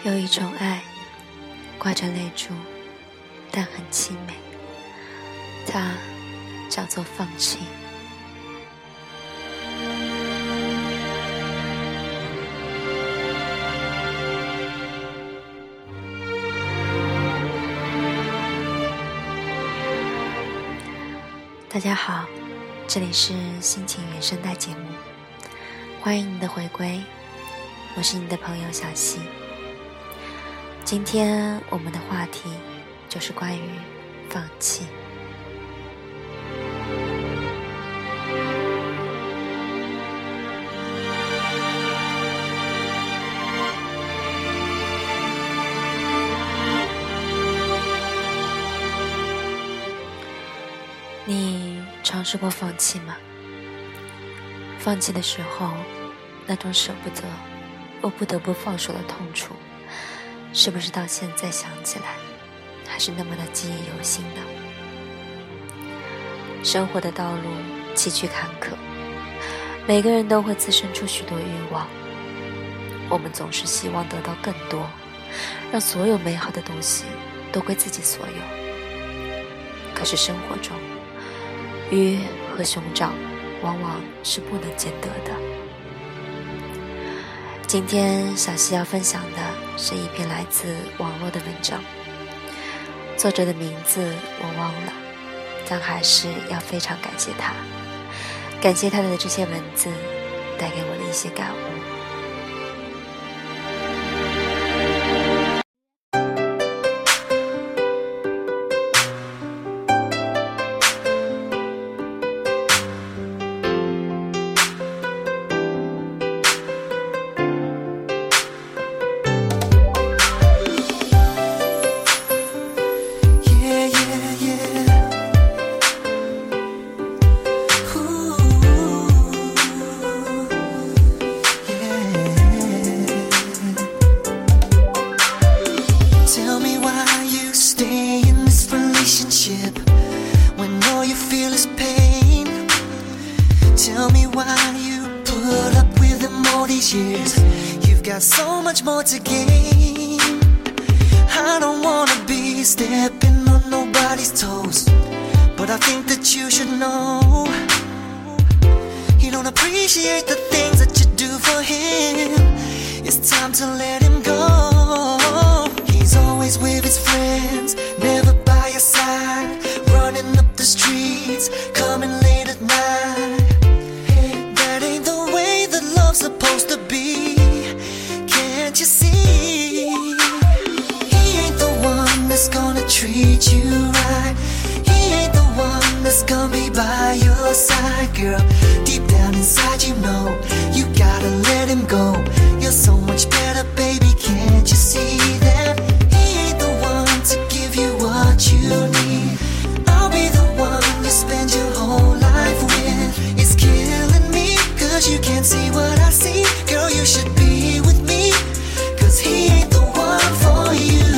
有一种爱，挂着泪珠，但很凄美，它叫做放弃。大家好，这里是心情原声带节目，欢迎你的回归，我是你的朋友小溪。今天我们的话题就是关于放弃。你尝试过放弃吗？放弃的时候，那种舍不得，我不得不放手的痛楚，是不是到现在想起来，还是那么的记忆犹新呢？生活的道路崎岖坎坷，每个人都会滋生出许多欲望，我们总是希望得到更多，让所有美好的东西都归自己所有。可是生活中，鱼和熊掌往往是不能兼得的。今天小溪要分享的是一篇来自网络的文章，作者的名字我忘了，但还是要非常感谢他，感谢他的这些文字带给我的一些感悟。 Tell me why you put up with them all these years. You've got so much more to gain. I don't wanna be stepping on nobody's toes, but I think that you should know you don't appreciate the things that you do for him. It's time to let him go. He's always with his friends, never by your side, running up the streets, coming late at night. Supposed to be, can't you see? He ain't the one that's gonna treat you right. He ain't the one that's gonna be by your side, girl. Deep down inside you know you gotta let him go. You're so much better, baby, can't you see that? He ain't the one to give you what you need. I'll be the one you spend your whole life with. It's killing me, cause you can't see what I see. Girl, you should be with me, cause he ain't the one for you.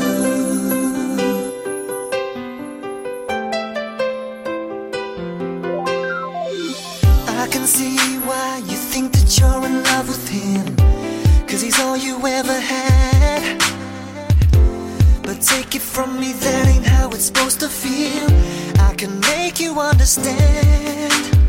I can see why you think that you're in love with him, cause he's all you ever had. But take it from me, that ain't how it's supposed to feel. I can make you understand.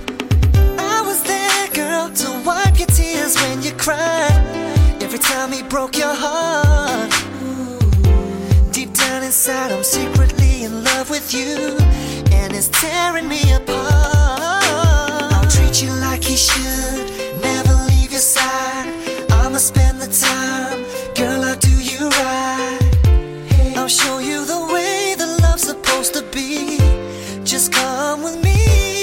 Girl, to wipe your tears when you cry, every time he broke your heart. Deep down inside I'm secretly in love with you, and it's tearing me apart. I'll treat you like he should, never leave your side. I'ma spend the time, girl, I'll do you right. I'll show you the way that love's supposed to be. Just come with me.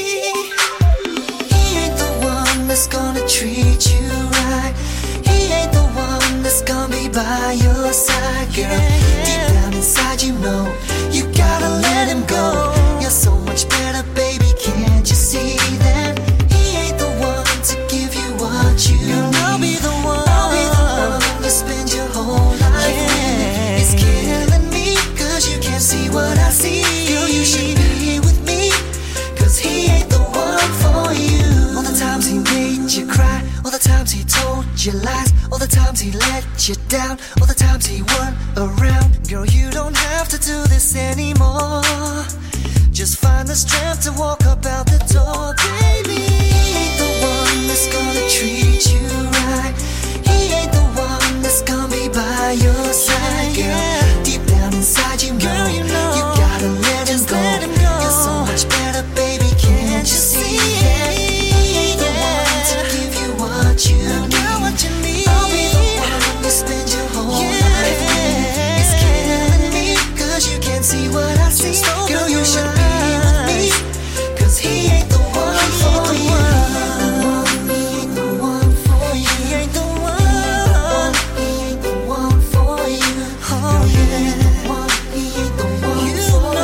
That's gonna treat you right. He ain't the one that's gonna be by your side, girl. Deep down inside you know you gotta let him go. You're so much better, baby, can't you see that? He ain't the one to give you what you need. I'll be the one, I'll be the one you spend your whole life with. It's killing me, cause you can't see what I see. Girl, you should be with me, cause he ain't the one for you. All the times he made you cry, all the times he told you lies, all the times he let you down, all the times he weren't around. Girl, you don't have to do this anymore. Just find the strength to walk up out the door, baby. He ain't the one that's gonna treat you right. He ain't the one that's gonna be by your side, girl. Deep down inside you know, you gotta let him go. You're so much better, baby, can't you see it? He ain't the one to give you what you need. I'll be the one you spend your whole life with. It's killing me, cause you can't see what I see. Girl, you should be with me, cause he ain't the one for you. He ain't the one for you. He ain't the one. He ain't the one for you. Oh yeah. He ain't the one for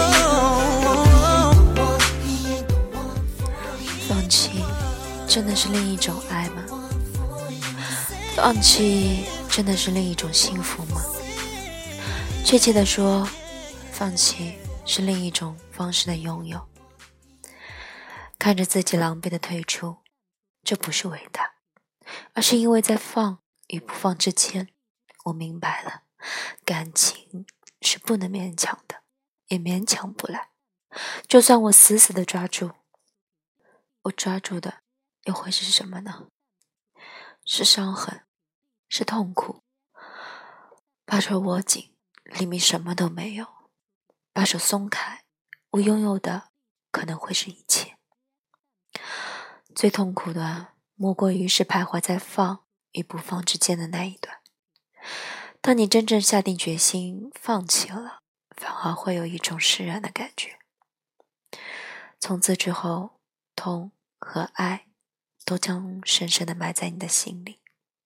you. He ain't the one for you. 放弃真的是另一种爱吗？放弃真的是另一种幸福吗？确切地说，放弃是另一种方式的拥有。看着自己狼狈的退出，这不是伟大，而是因为在放与不放之间，我明白了，感情是不能勉强的，也勉强不来。就算我死死的抓住，我抓住的又会是什么呢？是伤痕，是痛苦。把手握紧，里面什么都没有；把手松开，我拥有的可能会是一切。最痛苦的莫过于是徘徊在放与不放之间的那一段。当你真正下定决心放弃了，反而会有一种释然的感觉。从此之后，痛和爱都将深深地埋在你的心里。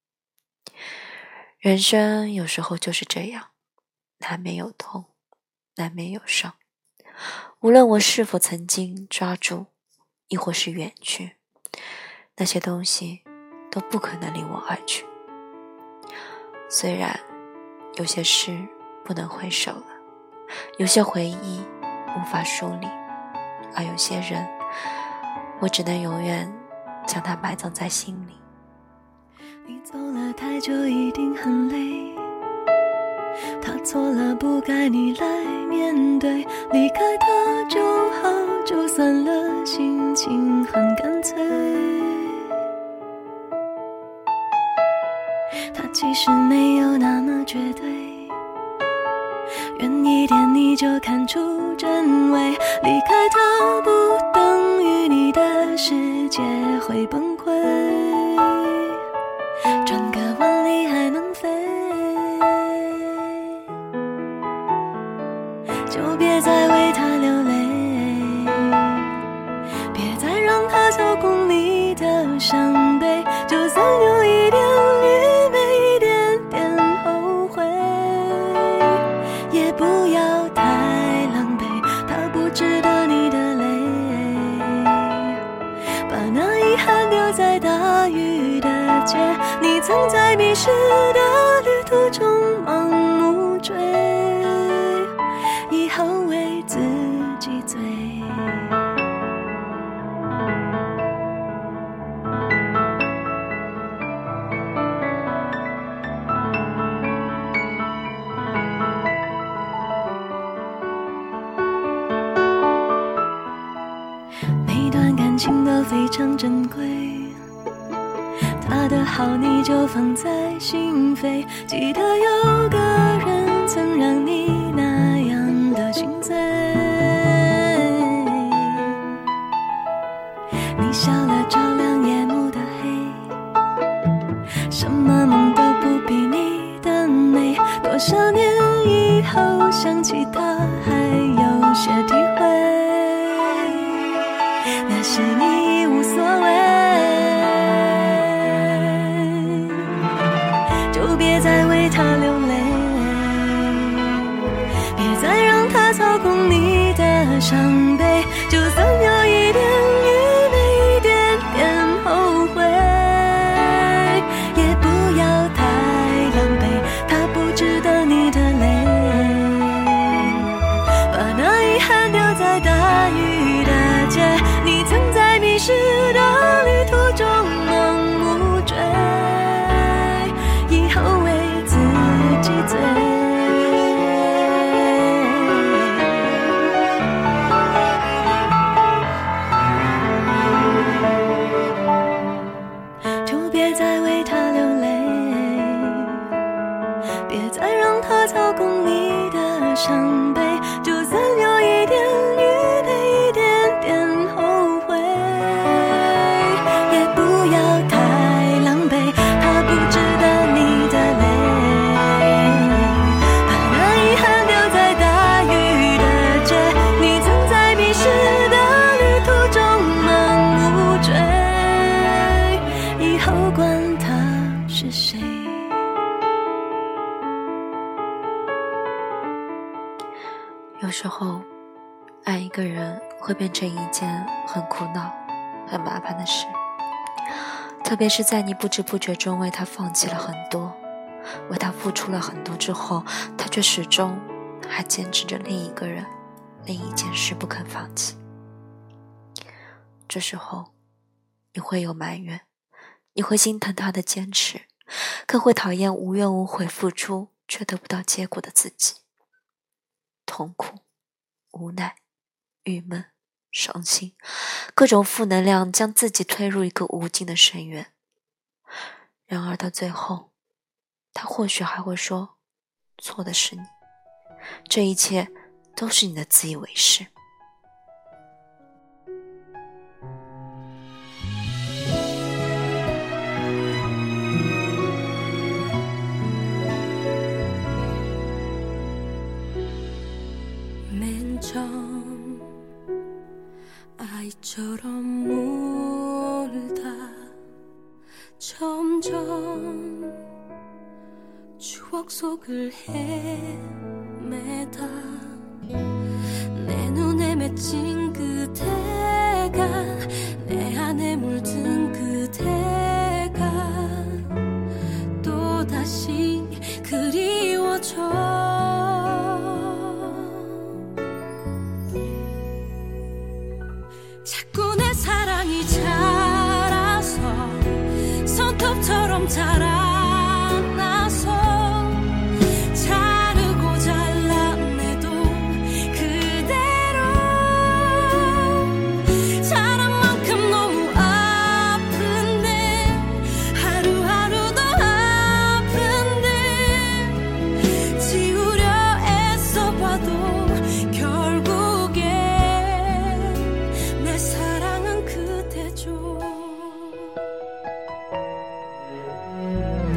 人生有时候就是这样，难免有痛，难免有伤。无论我是否曾经抓住，亦或是远去，那些东西都不可能离我而去。虽然有些事不能回首了，有些回忆无法梳理，而有些人我只能永远将它埋葬在心里。 你走了太久一定很累，他错了不该你来面对，离开他就好就算了，心情很干脆。他其实没有那么绝对，远一点你就看出真伪，离开他不等于你的世界会崩溃，转个弯你还能飞，就别再为他流泪，别再让他操控你的伤悲，就算有一点愚昧，一点点后悔，也不要太狼狈，他不值得你的泪，把那遗憾丢在大雨的街，你曾在迷失的旅途中盲目追，以后为自己醉。每段感情都非常珍贵，他的好你就放在心扉，记得有个人曾让你那样的心醉，你笑了照亮夜幕的黑，什么梦都不比你的美，多少年以后想起他还有些体会，那时你已无所谓，就别再为他流泪，别再让他操控你的伤悲，就算有一点愚昧，一点点后悔，也不要太狼狈，他不值得你的泪，把那遗憾丢在大雨的街，你曾在迷失的旅途中盲目追。 别再为他流泪，别再让他操控你的伤悲，就算有一点愚昧，一点点后悔，也不要太狼狈，他不值得你的泪，把那遗憾丢在大雨的街，你曾在迷失的旅途中盲目追，以后管他是谁。 有时候爱一个人会变成一件很苦恼很麻烦的事，特别是在你不知不觉中为他放弃了很多，为他付出了很多之后，他却始终还坚持着另一个人另一件事不肯放弃。这时候你会有埋怨，你会心疼他的坚持，更会讨厌无怨无悔付出却得不到结果的自己。痛苦、无奈、郁闷、伤心，各种负能量将自己推入一个无尽的深渊。然而到最后，他或许还会说，错的是你，这一切都是你的自以为是。 아이처럼 물다 점점 추억 속을 헤매다 내 눈에 맺힌 그대가 내 안에 물든 그대가 또다시 그리워져 자꾸 내 사랑이 자라서 손톱처럼 자라나서 자르고 잘라내도 그대로 자란 만큼 너무 아픈데 하루하루 더 아픈데 지우려 애써봐도 결국엔 내 사랑은 그대죠.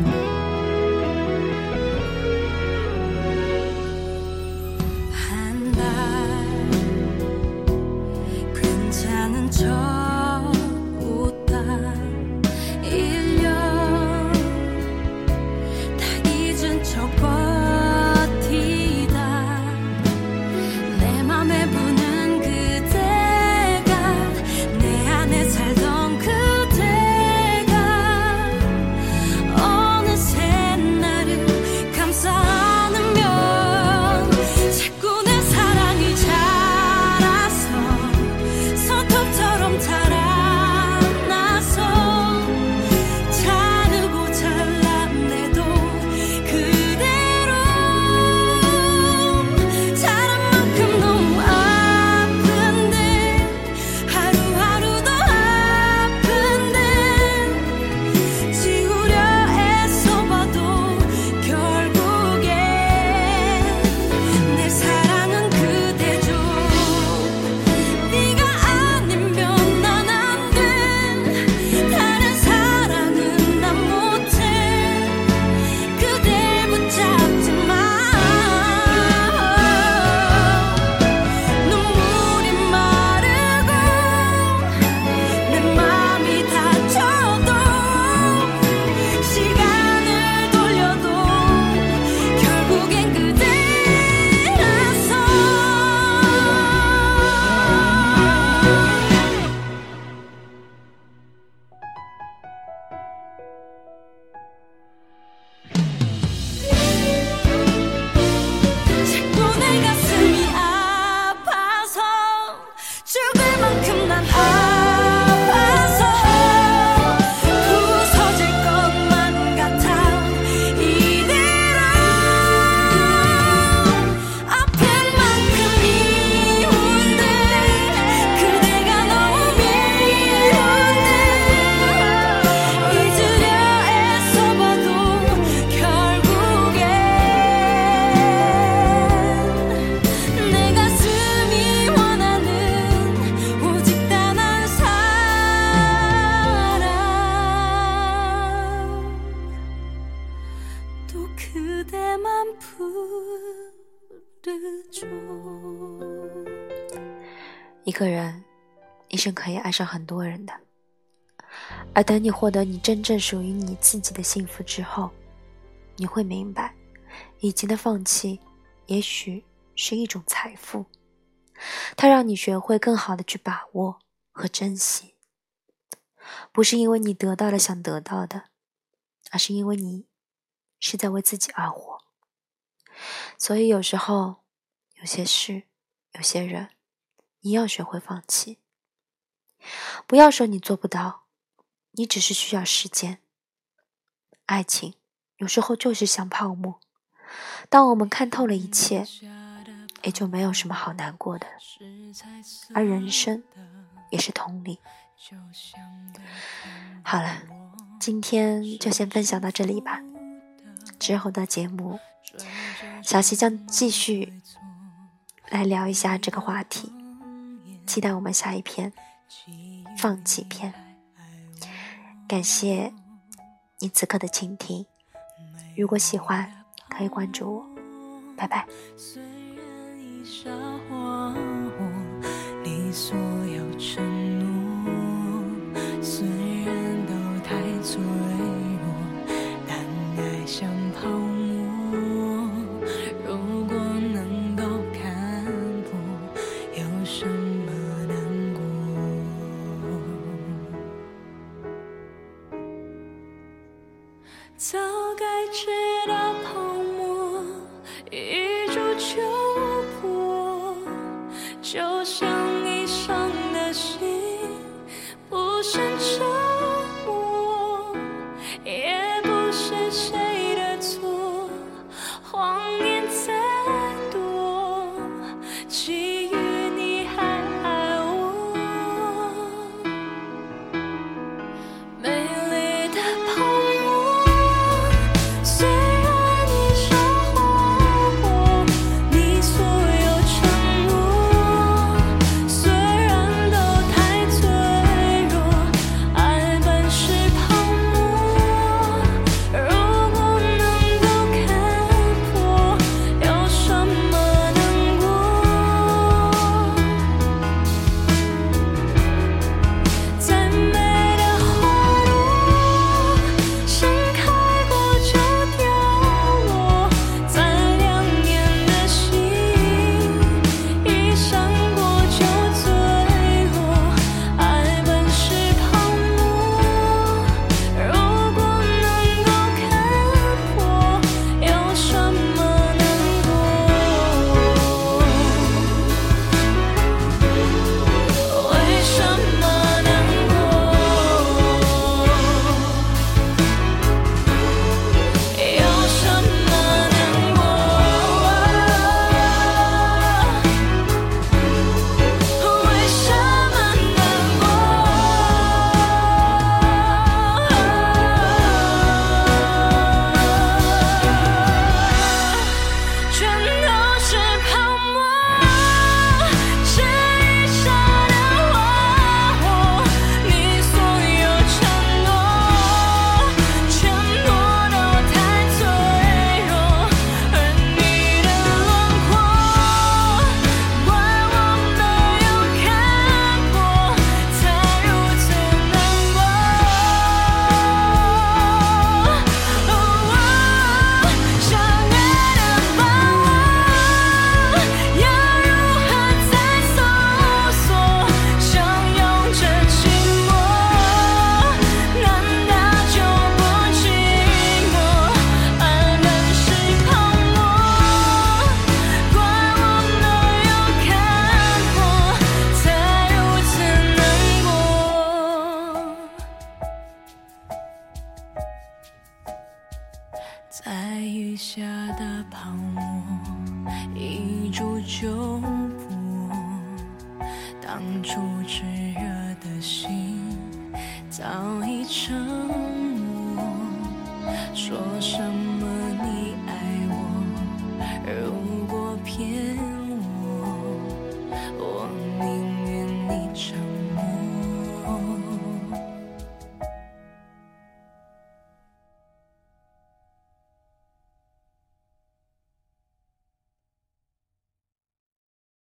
또 그대만 부르죠。 一个人一生可以爱上很多人的，而等你获得你真正属于你自己的幸福之后，你会明白，以前的放弃也许是一种财富，它让你学会更好的去把握和珍惜，不是因为你得到了想得到的，而是因为你是在为自己而活。所以有时候，有些事，有些人，你要学会放弃。不要说你做不到，你只是需要时间。爱情有时候就是像泡沫，当我们看透了一切，也就没有什么好难过的。而人生也是同理。好了，今天就先分享到这里吧。之后的节目，小溪将继续来聊一下这个话题，期待我们下一篇放弃篇。感谢你此刻的倾听，如果喜欢可以关注我，拜拜。 虽然已撒谎，你所有承诺，虽然都太脆弱，但爱像泡沫。如果能够看破，有什么难过？早该知道泡沫一触就破，就像你伤的心不胜折磨，也不是谁的错，谎言再多，基于你还爱我。美丽的泡沫，虽然你说谎，你所有承诺，虽然都太脆弱，爱本是泡沫。如果能够看破，有什么难过？再美的花朵，盛开过就凋落，再亮眼的星，一闪过就坠落。爱本是泡沫，如果能够看破，有什么难过？为什么难过？有什么难过？为什么难过？全都是泡沫，这一刹的花火，你所有承诺，全部都太脆弱，而你的轮廓，怪我没有看破，才如此难过。想爱的把握，要如何再搜索？相拥着寂寞，难道就不寂寞？爱本是泡沫，怪我没有看破，才如此难过。在雨下的泡沫，一触就破。当初炽热的心，早已成